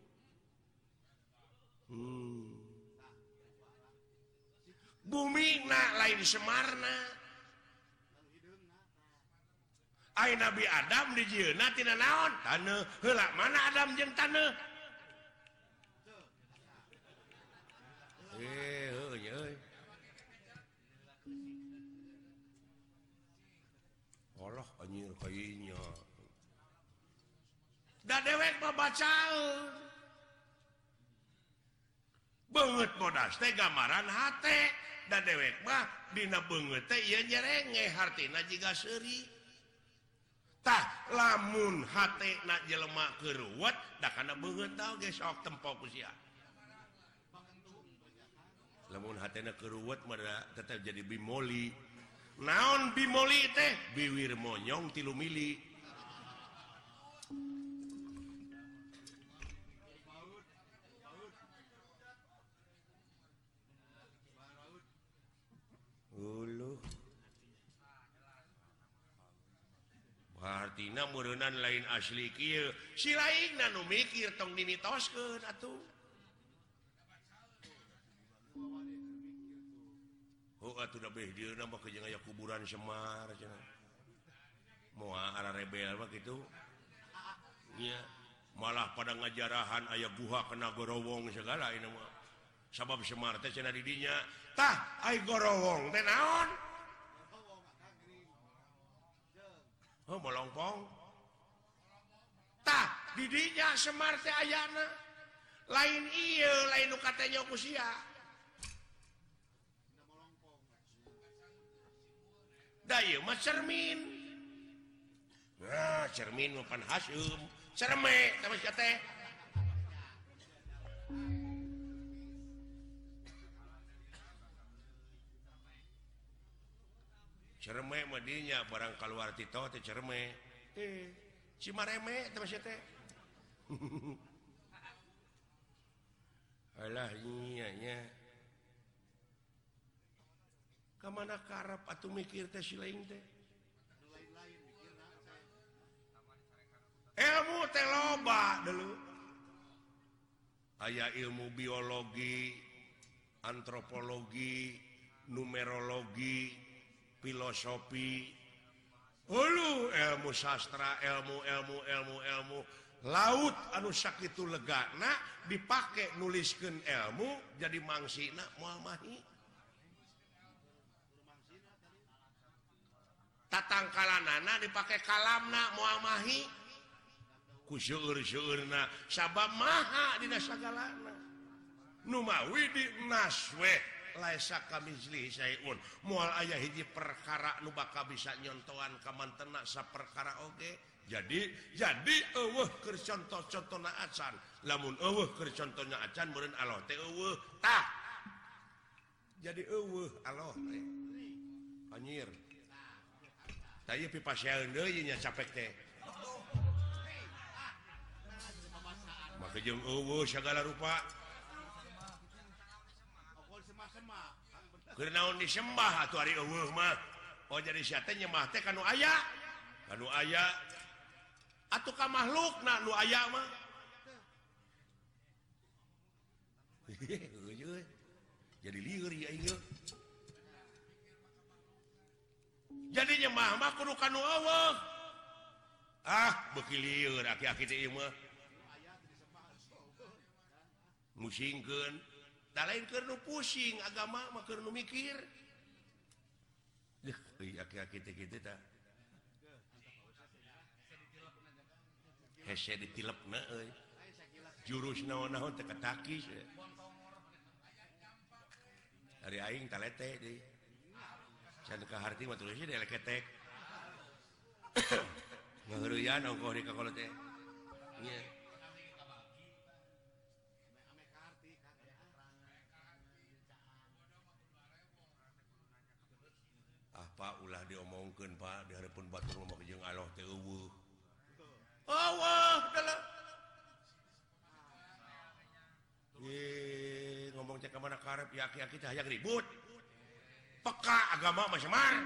hmm. bumi na lain Semarna ai Nabi Adam dijieuna tina naon taneuh heula mana Adam jeung taneuh eh heuh euy tah anjir kayaknya da dewek mah bacaeun beungeut bodas teh gambaran hate da dewek mah dina beungeut teh ieu nyerenge hartina jiga seuri tah lamun hatena jelema keuruwet da kana beungeut tah ge sok tempo ku sia lamun hatena keuruwet mah tetep jadi bimoli naon bimoli teh biwir monyong tilu mili uluh artina meureunnan lain asli kieu si lainna nu mikir tong dimitoskeun atuh oh atuh da beh dieuna mah jeung aya kuburan Semar cenah moal ara rebel mah kitu nya malah pada ngajarahan aya guha kena gorowong segala ini mah sabab Semar teh cenah di dinya tah ai gorowong teh naon oh molongpong tah di dinya Semar teh ayana lain ieu lain nu katanya ku sia da ieu mah cermin nah cermin mah pan Hasyum cerme tah sia teh cerme mah dinya barang kaluar Tito teh cerme eh Cimareme teh sia teh alah nya nya kamana karep atuh mikir teh si lain teh ilmu teh loba dulu aya ilmu biologi antropologi numerologi filosofi ulu ilmu sastra ilmu ilmu ilmu ilmu laut anu sakitu legana dipake nuliskeun ilmu jadi mangsina moal mahi tatangkalanana dipake kalamna moal mahi ku seueur-seueurna sabab maha dina sagalana nu mawi di naswe laisa kamizli sayun moal aya hiji perkara nu bakal bisa nyontohan ka mantena saperkara oge jadi jadi eueuh keur contoh-contohna acan lamun eueuh keur contohna acan meureun Allah teh eueuh tah jadi eueuh Allah teh anjir tah ieu pipaseun deui nya capek teh maka jeung eueuh sagala rupa keur naon disembah atuh ari eueuh mah oh jadi sia teh nyembah teh kanu aya kanu aya atuh ka makhlukna nu aya mah jadi lieur ya ieu jadi nyembah mah kudu kanu eueuh ah beuki lieur aki-aki teh ieu mah musingkeun da lain keur nu pusing agama mah keur nu mikir deh euy aki-aki teh kitu tah hese ditilepna euy jurus naon-naon teh katakis ari aing talete deui can ka harti mah tulisnya dia leketek ngaheureyan ongkoh di kakolo teh nya Pak ulah diomongkeun Pak di hareupeun batur ngomong jeung Allah teh eueuh. Allah dalah. Ye ngomong cek ka mana karep ya aki-aki teh hayang ribut. Peka agama mah Semar.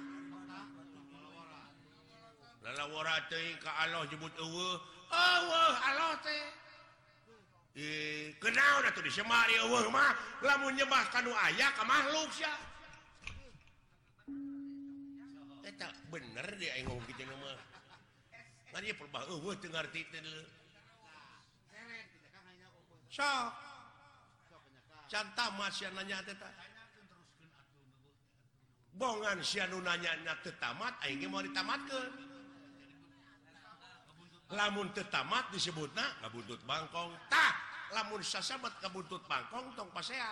Lalawara teh ka Allah nyebut eueuh. Allah Allah teh. Eh kenaon atuh di Semar eueuh mah lamun nyembah kanu aya ka makhluk sia. Eta bener dia aing ngomong kitu mah. Kan ieu perbah eueuh teu ngarti teh deuleu. Sok. Can tamat sia nanya teh tah. bongan si anu nanyana teu tamat aing ge mau ditamatkeun lamun teu tamat disebutna ngabuntut bangkong tah lamun sasabat kabuntut bangkong tong pasea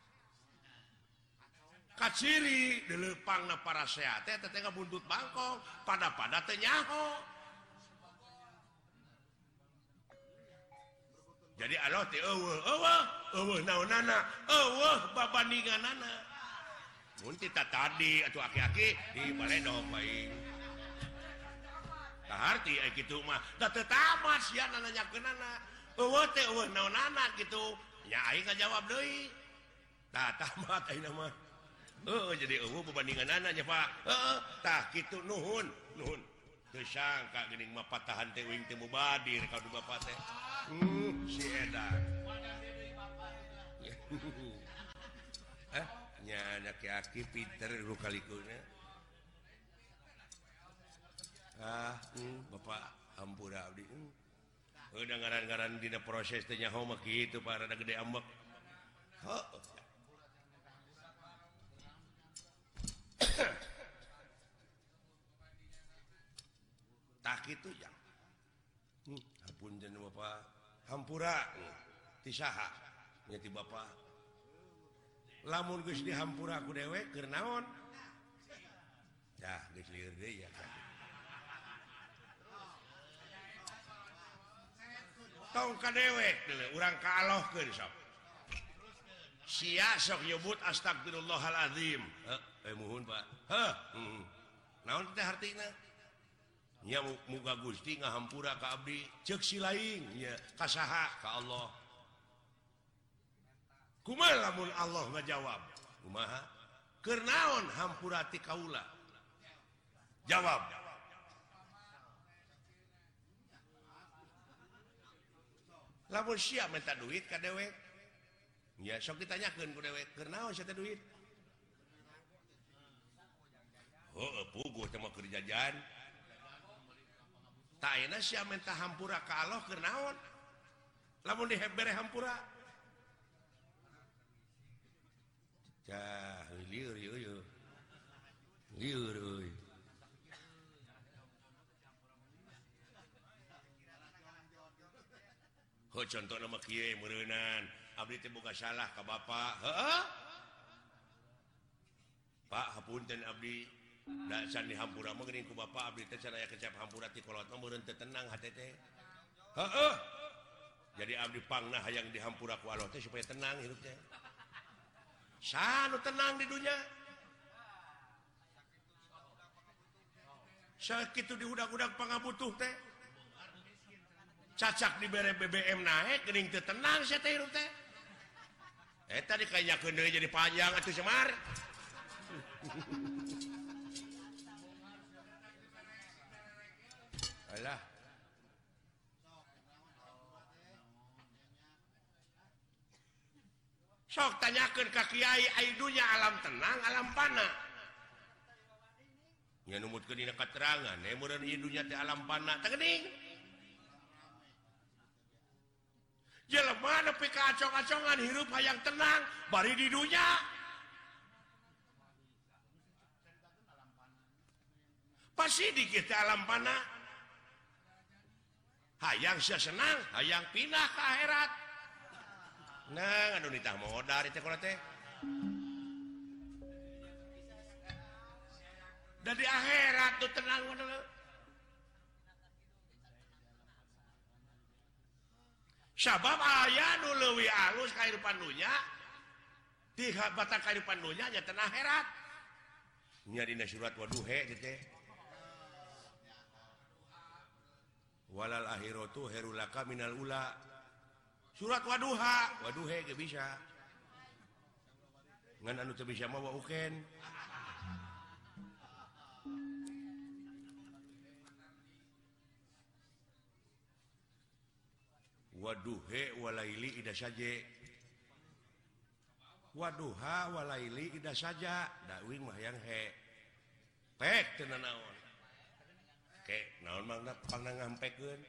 kaciri deleupangna para sea teh teh ngabuntut bangkong pada-pada teh nyaho jadi aloh teh eueuh eueuh eueuh naonana eueuh babandinganana mun tita tadi atuh aki-aki di baledog bae kaharti aya kitu mah da teu tamat sia nanyakeunana eueuh teh eueuh naonana kitu nya aing ngajawab deui tah tamat ayeuna mah heuh jadi eueuh babandinganana nya Pak heeh tah kitu nuhun nuhun teu sangka geuning mah patahan teh uing teh mubadir ka du Bapak teh hmm si edan eh nya aki-aki pinter lu kalikuna ah hmm, Bapak hampura abdi hmm. Udah ngaran-ngaran dina proses teh nyaho mah kitu Pak rada gede ambek heuh tak kitu jang hmm, hapunten Bapak hampura hmm. ti saha nya ti Bapak lamun geus dihampura ku dewek keur naon dah geus lieur deui ya kan tong ka dewek deuleu urang kaalohkeun sok sia sok nyebut astagfirullahalazim heuh eh muhun Pak heuh hmm. naon teh hartina nya muga Gusti ngahampura ka abdi ceuk si laing nya ka saha ka Allah kumaha lamun Allah ngajawab kumaha keur naon hampura ti kaula jawab lamun sia minta duit ka dewek nya sok ditanyakeun ku dewek keur naon sia teh duit heuh puguh teh mah keur jajan tak ayeuna sia minta hampura ka Allah keur naon lamun dihebere hampura cah lieur ieu ieu lieur euy ho contona mah kieu meureunan abdi teh boga salah ka Bapak heeh Pak hapunten abdi da can dihampura mah geuning ku Bapak abdi teh can aya kecap hampura ti kolot mah meureun teu tenang hate teh heeh jadi abdi pangna hayang dihampura ku Allah teh supaya tenang hirup teh sanu tenang di dunia sakitu diudag-udag pangabutuh teh cacak dibere B B M naik geuning teu tenang sia teh hirup teh eta dikanyakeun deui jadi panjang atuh Semar alah sok tanyakeun ka kiai ai dunya alam tenang alam pana nya numutkeun dina katerangan eh meureun ieu dunya teh alam pana teh geuning jelema nepi ka acong-acongan hirup hayang tenang bari di dunya pasti di kita alam pana hayang sia senang hayang pindah ke akhirat nah anu nitah modal teh kola teh da di akhirat tuh tenang bener sabab aya nu leuwih alus kahirupan dunya di batak kahirupan dunya nya teh akhirat nya dina surat Waduhe teh walal akhiratu herulaka minal ula surat Waduha Waduhe ge bisa ngan anu teu bisa mah wauken Waduhe walaili ida saja Waduha walaili ida saja da uing mah yang he pek teu naon ke naon mangna pangna ngampekkeun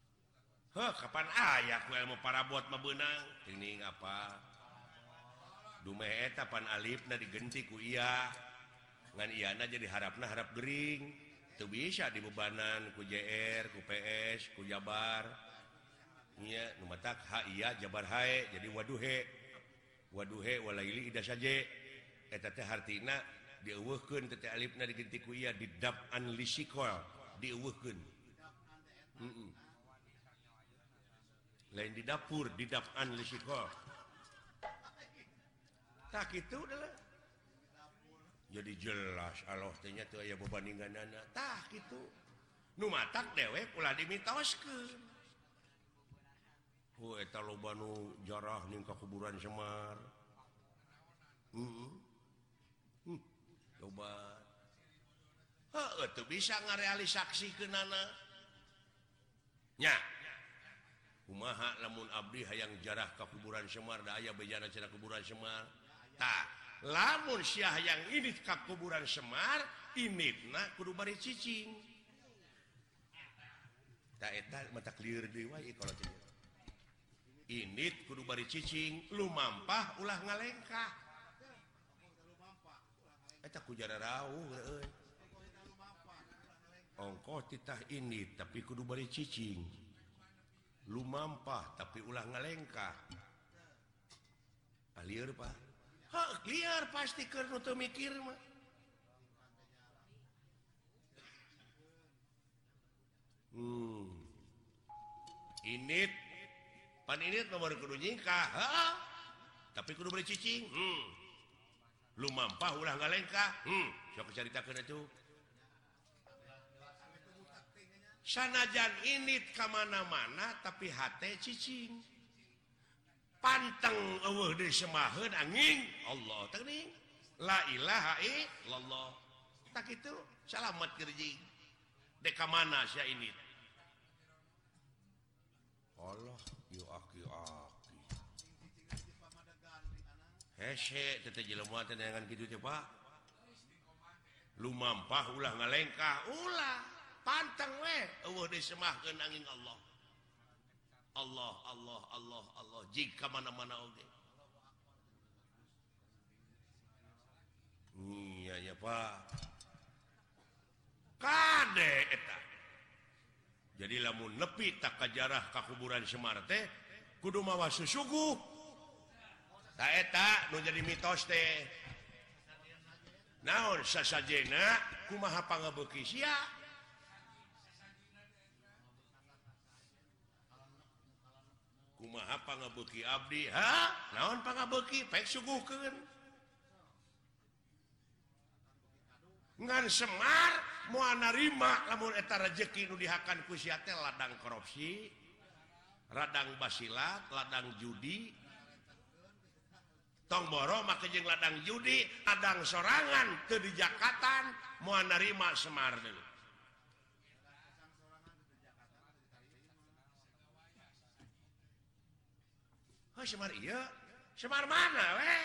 heuh kapan aya ku ilmu parabot mah beunang teuing apa Dumeetapan Alifna digenti ku iya ngan iyana jadi harapna harap gering itu bisa dibebanan ku J R ku P S ku Jabar iya numatak ha iya Jabar hae jadi waduhe waduhe walaili ida saja eta teh hartina dieuweuhkeun teh Alifna digenti ku iya didab'an lisikol dieuweuhkeun heeh lain di dapur didab'an lisikol tak itu adalah jadi jelas Allah tanya tuh aya bebaninganana tah gitu nu matak dewek ulah dimitoskeun oh eta loba nu jarah ning ka kuburan Semar heeh hmm. coba heuh teu bisa ngarealisasikeunana nya kumaha lamun abdi hayang jarah ka kuburan Semar da aya bejana cenah kuburan Semar tah lamun sia hayang ini ka kuburan Semar initna kudu bari cicing tah eta mata clear deui wae kalau teh init kudu bari cicing lumampah ulah ngalengkah eta ku jara rawuh euy ongkoh titah init tapi kudu bari cicing lumampah tapi ulah ngalengkah alieur Pak hah liar pasti keur nu teu mikir mah hmm init pan init nomor kudu nyingkah heeh tapi kudu beli cicing hmm lumampah ulah ngalengkah hmm sok caritakeun atuh sanajan init ka mana-mana tapi hate cicing panteng eueuh deui semaheun angin Allah teuing la ilaha illallah tak kitu salamet kerjing dek ka mana sia init Allah yu aki aki hese teh jelema teh neangan kitu teh Pak lumampah ulah ngalengkah ulah panteng we eueuh deui semahkeun angin Allah Allah Allah Allah Allah jika mana-mana oge iya ya Pak kade eta jadi lamun nepi tak kajarah ka kuburan Semar teh kudu mawa susuguh tah eta nu jadi mitos teh naon sasajena kumaha pangabeuki sia kumaha pangabeuki abdi ha naon pangabeuki pek suguhkeun ngan Semar moal narima lamun eta rezeki nu dihakan ku sia teh ladang korupsi ladang basilat ladang judi tong boro make jeung ladang judi ladang sorangan teu dijakatan moal narima Semar deui oh Semar iya Semar mana we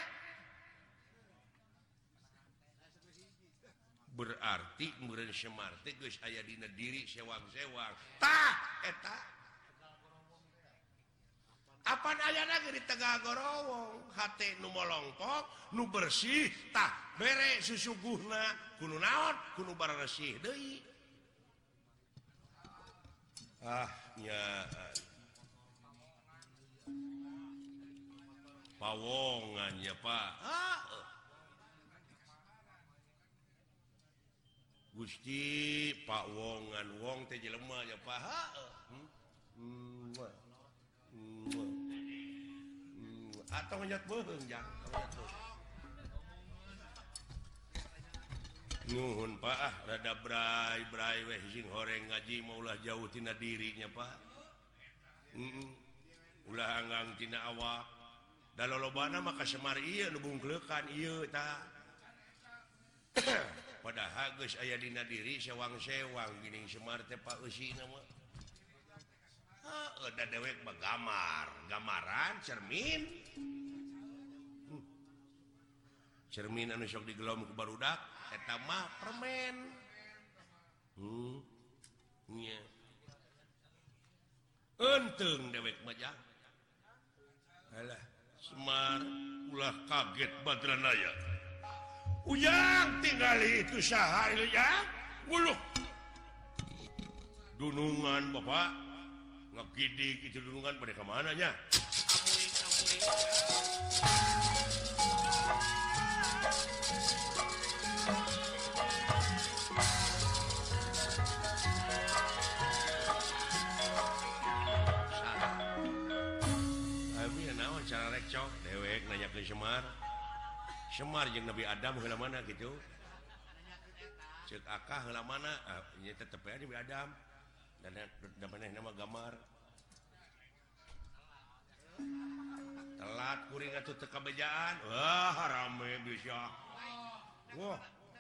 berarti meureun Semar teh geus aya dina diri sewang-sewang tah eta apan ayana ge di Tegal Gorowong hate nu molongpok nu bersih tah bere susuguhna kudu naon kudu bararesih deui ah nya pawongan ya Pak ah. Gusti Pak Wongan wong teh jelema ya Pak ha hmm? hmm. hmm. atau ngejat beung jang nuhun Pak ah rada brai-brai weh sing horeng ngaji mau ulah jauh tina dirinya Pak heeh ulah anggang tina awak da lolobana mah ka Semar ieu nu bungkleukan ieu tah padahal geus aya dina diri sewang-sewang geuning Semar teh Pak eusina mah heuh da dewek mah gamar gamaran cermin hmm. cermin anu sok digelom ku barudak eta mah permen hmm nya enteung dewek mah jah alah Semar ulah kaget Badranaya ujang tinggali itu sahar ya uluh dunungan Bapak ngegidik itu dunungan pada kemananya cara recok dewek nanya ke Semar Semar jeung Nabi Adam heula mana gitu ceuk akah heula mana ah, nya tetep ya Nabi Adam dan da maneh nama gambar telat kuring atuh teu kabejaan wah rame bisa wah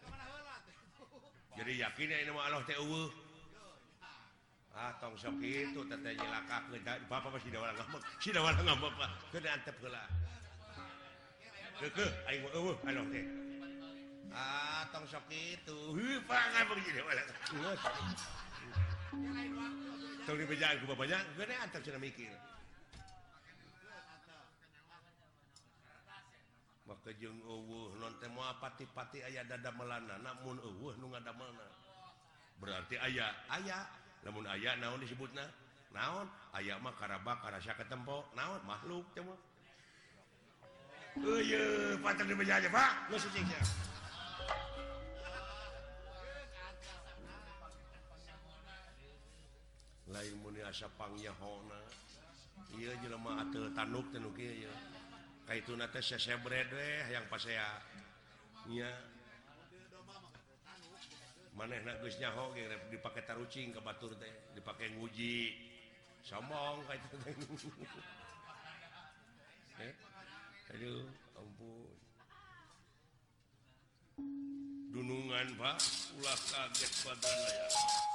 jadi yakin ya ini mah Allah teh eueuh ah tong sok itu teteh nyelakakeun bapak pasti da wala ngambek si da wala ngambek Pak keun antep heula keukeuh aing mah eueuh aloh teh ah tong sok itu heuh Pak ngambek si da wala geus tong dibejaan ku bapaknya keun antep cenah mikir maka jeung eueuh non teh moal pati-pati aya dadamelana namun eueuh nu ngadamelna berarti aya aya lamun aya naon disebutna naon aya mah karaba karasa ketempo naon makhluk teh mah eueuh panten dibejaja Pak geus cicing sia lain mun asa pangyahona ieu jelema ateu tanuk teh nu kieu kaituna teh sesebred we hayang pasea nya manehna geus nyaho ge dipake tarucing ka batur teh dipake nguji sombong ka itu teh eh aduh ampun dunungan Pak ulah kaget badanna ya